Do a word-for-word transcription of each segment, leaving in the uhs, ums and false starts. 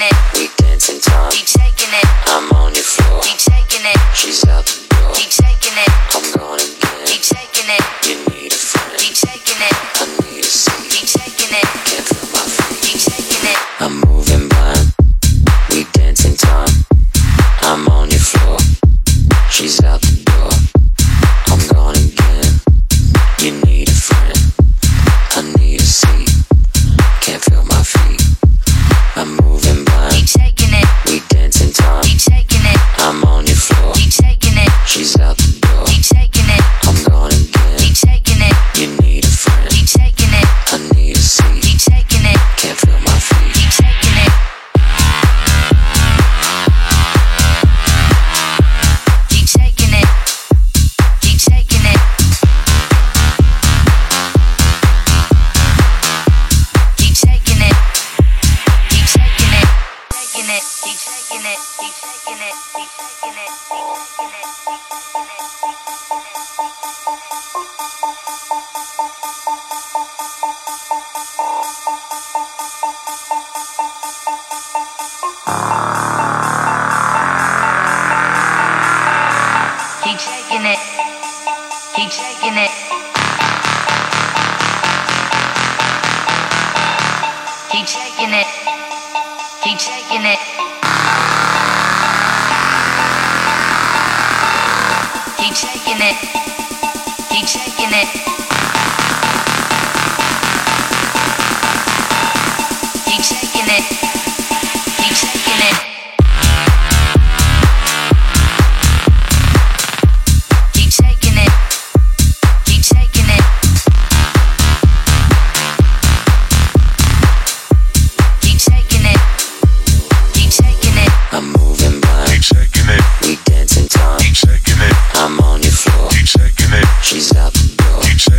She's.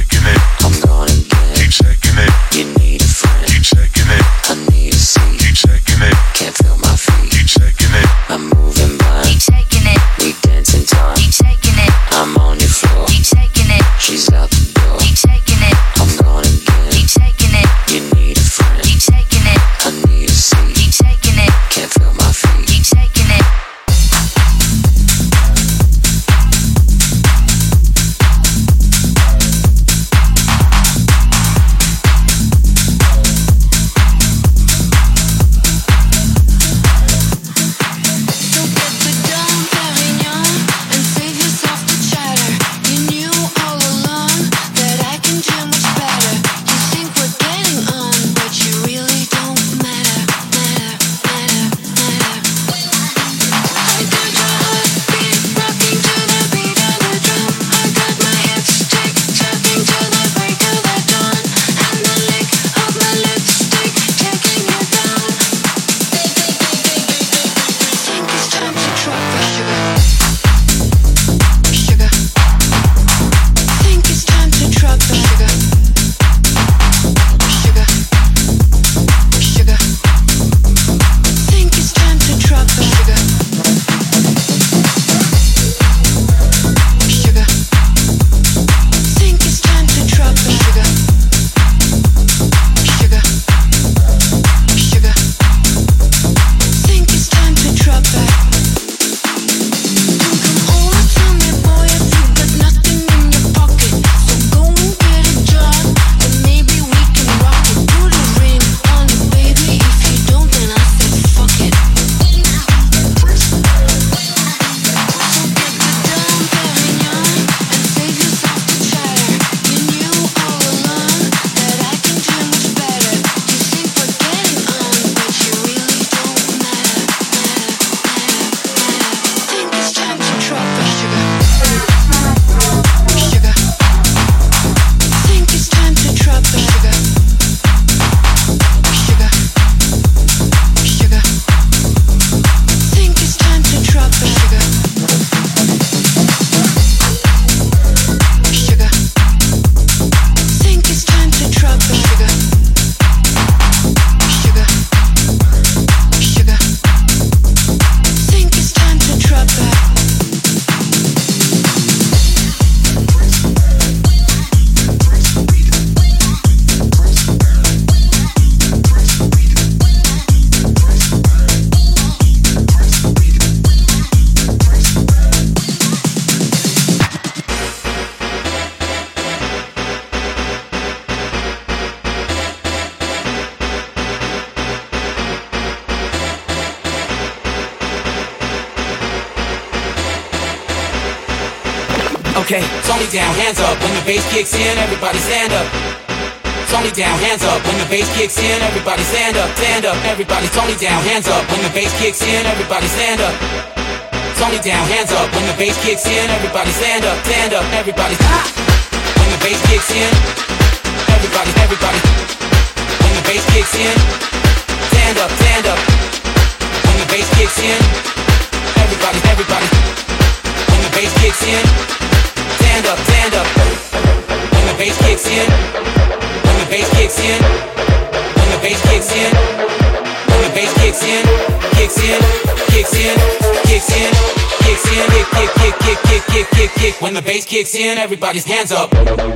Keep shaking it. Okay. Tony down, hands up. When the bass kicks in, everybody stand up. Tony down, hands up. When the bass kicks in, everybody stand up, stand up. Everybody, Tony down, hands up. When the bass kicks in, everybody stand up. Tony down, hands up. When the bass kicks in, everybody stand up, stand up. Everybody, ah! When the bass kicks in, everybody, everybody. When the bass kicks in, stand up, stand up. When the bass kicks in, everybody, everybody. When the bass kicks in, stand up, stand up. When the bass kicks in, when the bass kicks in, when the bass kicks in, when the bass kicks in, kicks in, kicks in, kicks in, kicks in, kick, kick, kick, kick, kick, kick, kick, kick. When the bass kicks in, everybody's hands up.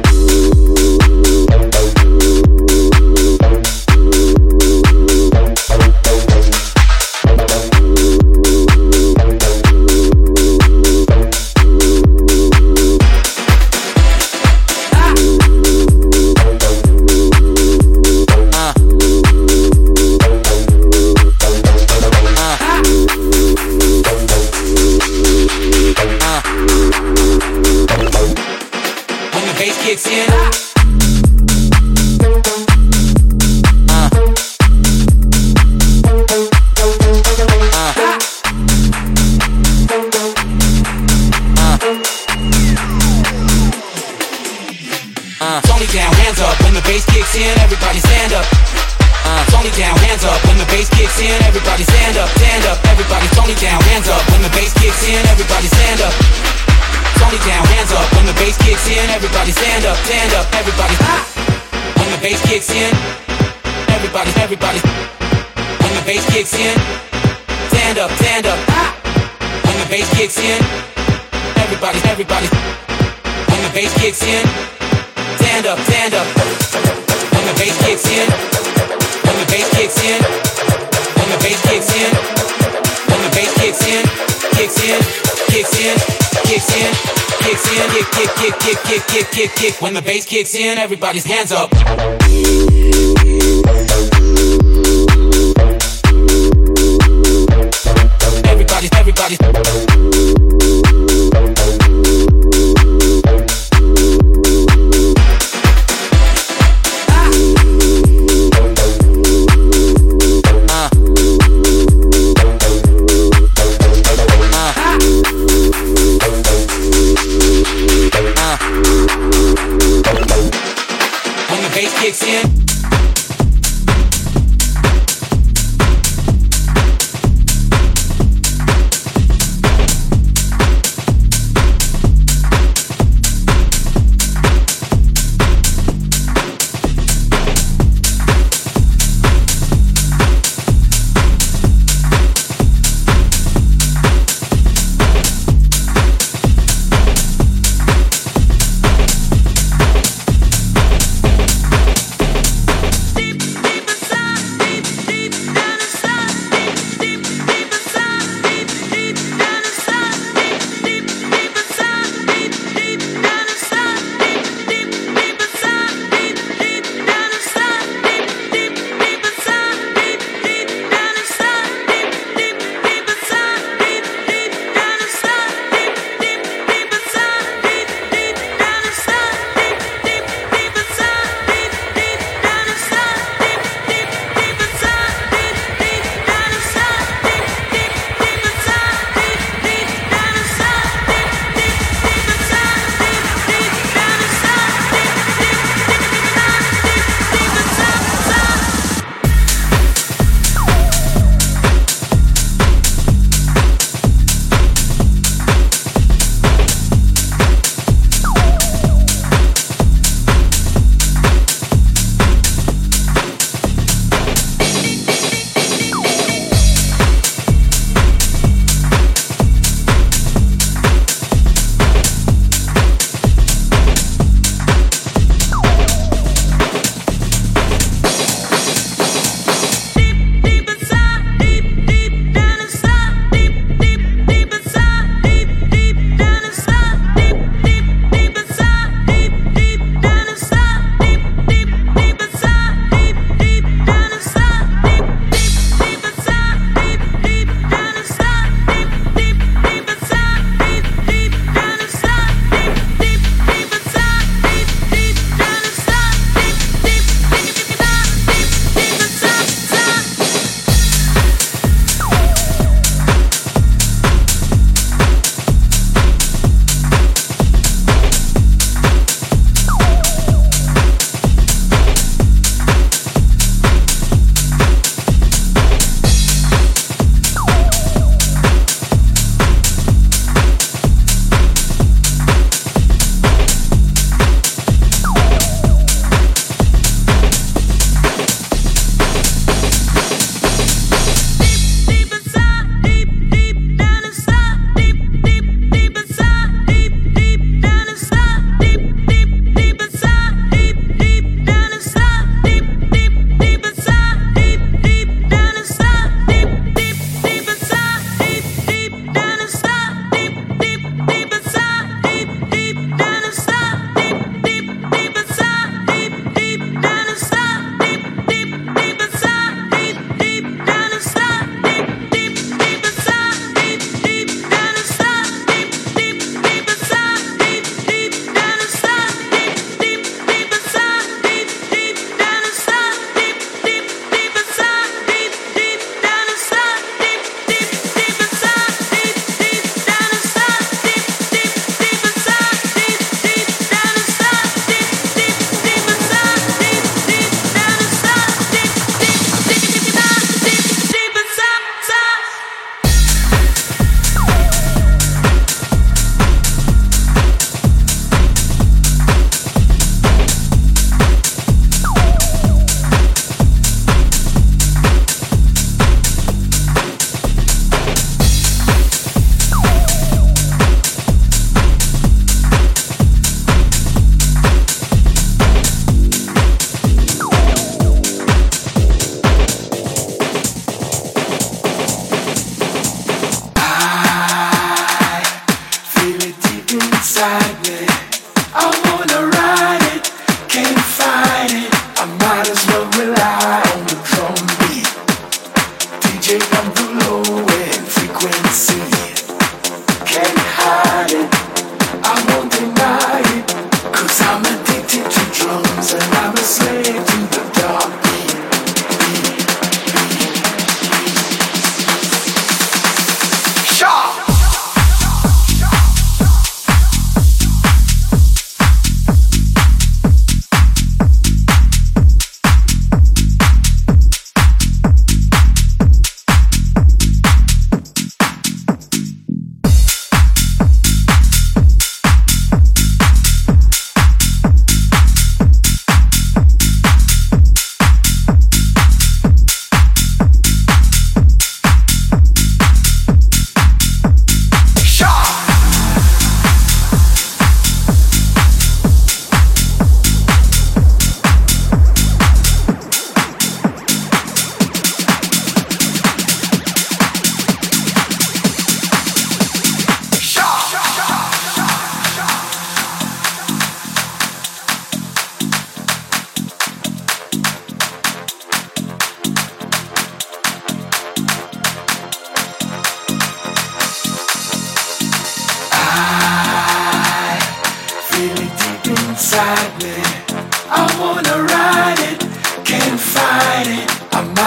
Kicks in. Uh. Uh. Uh. Tony down, hands up. When the bass kicks in, everybody stand up. Uh. Tony down, hands up. When the bass kicks in, everybody stand up, stand up. Everybody, Tony down, hands up. When the bass kicks in, everybody stand up. Tony down, hands up. When the bass kicks in, everybody stand up, stand up. Everybody, ah! When the bass kicks in, everybody, everybody. When the bass kicks in, stand up, stand up. Ah! When the bass kicks in, everybody, everybody. When the bass kicks in, stand up, stand up. When the bass kicks in, when the bass kicks in, when the bass kicks in, when the bass kicks in, kicks in, kicks in. Kicks in, kicks in, kick, kick, kick, kick, kick, kick, kick, kick. When the bass kicks in, everybody's hands up. Everybody, everybody. Kicks in,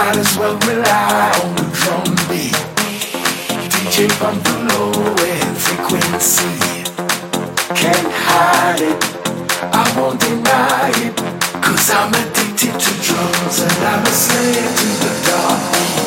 might as well rely on the drum beat. D J bump the low end frequency. Can't hide it, I won't deny it. Cause I'm addicted to drums and I'm a slave to the dark beat.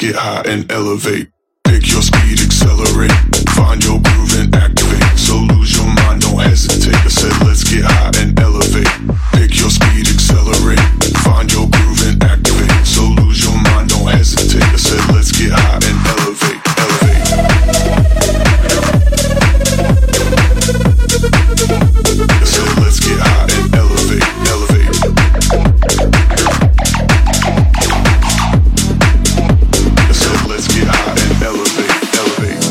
get high and elevate. Pick your speed, accelerate. Find your groove and activate. So lose your mind, don't hesitate. I said let's get high and elevate. Pick your speed, accelerate. Find your groove and activate. So lose your mind, don't hesitate. I said let's get high and elevate. Elevate. I said let's get high and elevate. Elevate. I said let's get high and elevate. Elevate.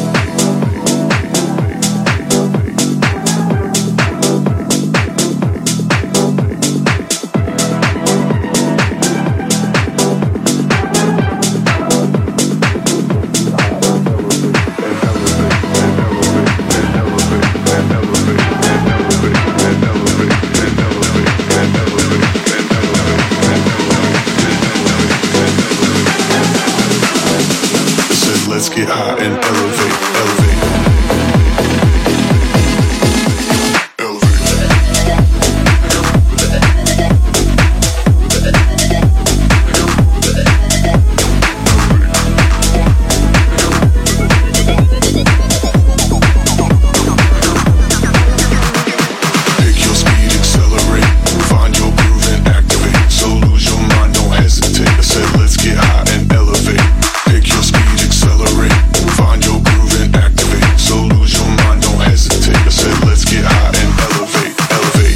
Let's get high and elevate, elevate, pick your speed, accelerate, find your groove and activate. So lose your mind, don't hesitate. I said let's get high and elevate. Pick your speed, accelerate, find your groove and activate. So lose your mind, don't hesitate. I said let's get high and elevate, elevate.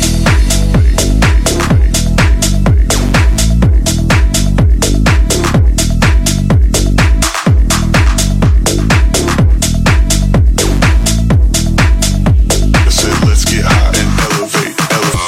I said let's get high and elevate, elevate.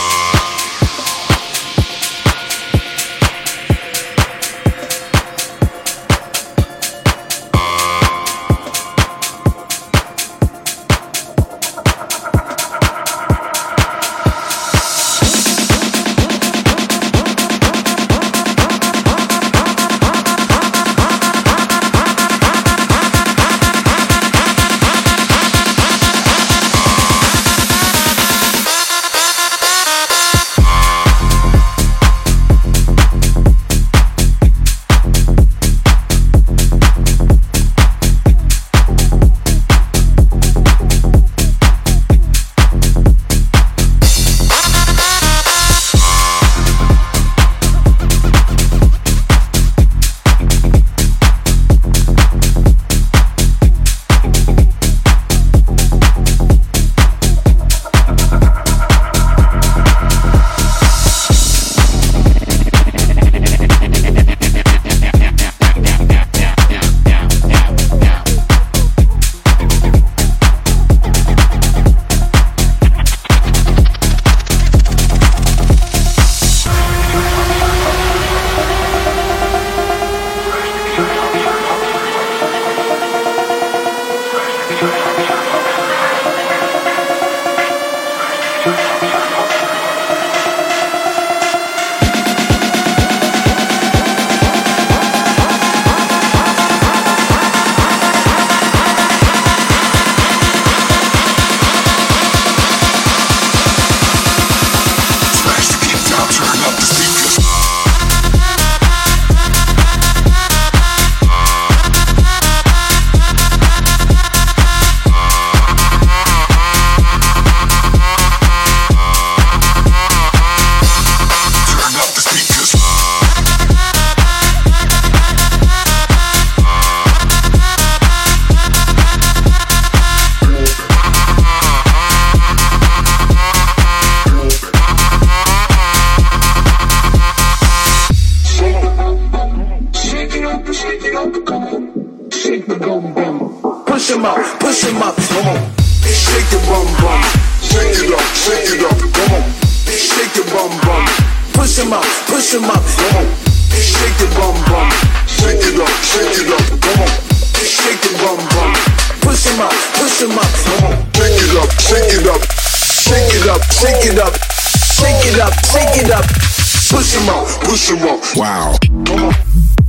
Push 'em up, push 'em up, come on. Shake your bum bum, shake it up, shake it up, come on. Shake your bum bum, push 'em up, push 'em up, come on. Shake your bum bum, shake it up, shake it up, come on. Shake your bum bum, push 'em up, push 'em up, come on. Shake it up, shake it up, shake it up, shake it up, shake it up, shake it up. Push 'em up, push 'em up. Wow. Come on.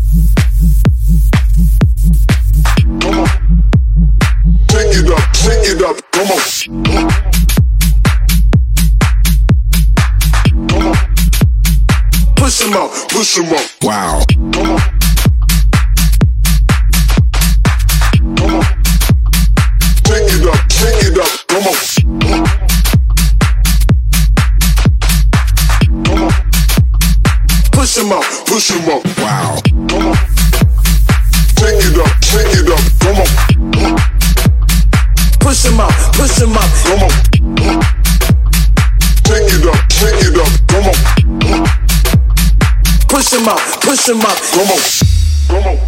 Come on. Shake it up, shake it up, come on. Come on. Push 'em up, push 'em up. Wow. Come on. push him up, push him up. Wow. Come on. Take it up, take it up. Come on. Push him up, push him up. Come on. Take it up, take it up. Come on. Push him up, push him up. Come on. Come on.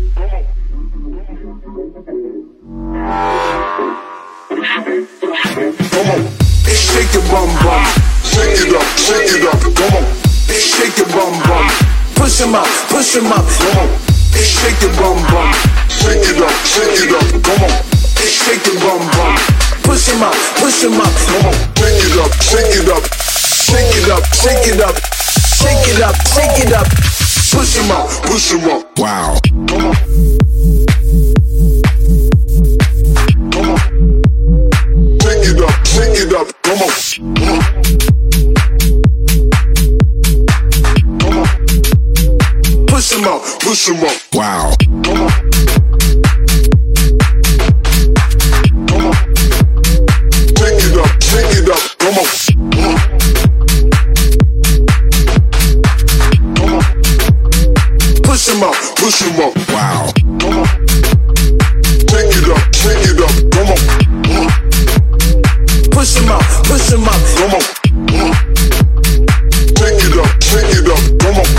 Come on. Shake your bum bum. Shake it up, shake it up. Come on. Shake your bum bum. Push him up, push him up. Come on. Shake your bum bum. Shake it up, shake it up. Come on. Shake your bum bum. Push him up, push him up. Come on. Shake it up, shake it up. Shake it up, shake it up. Shake it up, shake it up. Push him up, push him up. Wow. Come on. Come on. Shake it up, shake it up. Come on. Come on. Push him up, push him up. Wow. Come on. Come on. Shake it up, shake it up. Come on. Come on. Push him up, push him up. Wow. Come on. Shake it up, shake it up. Come on. Push him up, push him up. Come on. Shake it up, shake it up. Come on.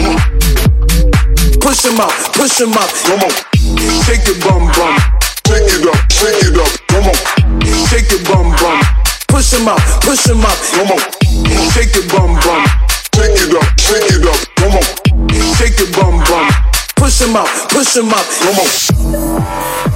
Push him up, push him up. Come on. Shake your bum bum. Shake it up, shake it up. Come on. Shake your bum bum. Push him up, push him up. Come on. Shake your bum bum. Shake it up, shake it up. Come on. Shake your bum bum. Push him up, push him up. Come on.